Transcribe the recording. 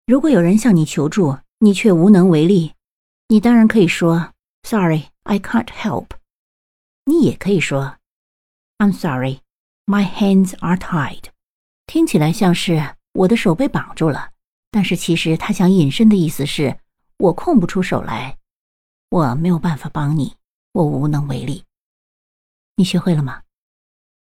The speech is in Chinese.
如果有人向你求助，你却无能为力，你当然可以说 Sorry, I can't help。 你也可以说 I'm sorry, my hands are tied。 听起来像是我的手被绑住了，但是其实他想引申的意思是我空不出手来，我没有办法帮你，我无能为力。你学会了吗？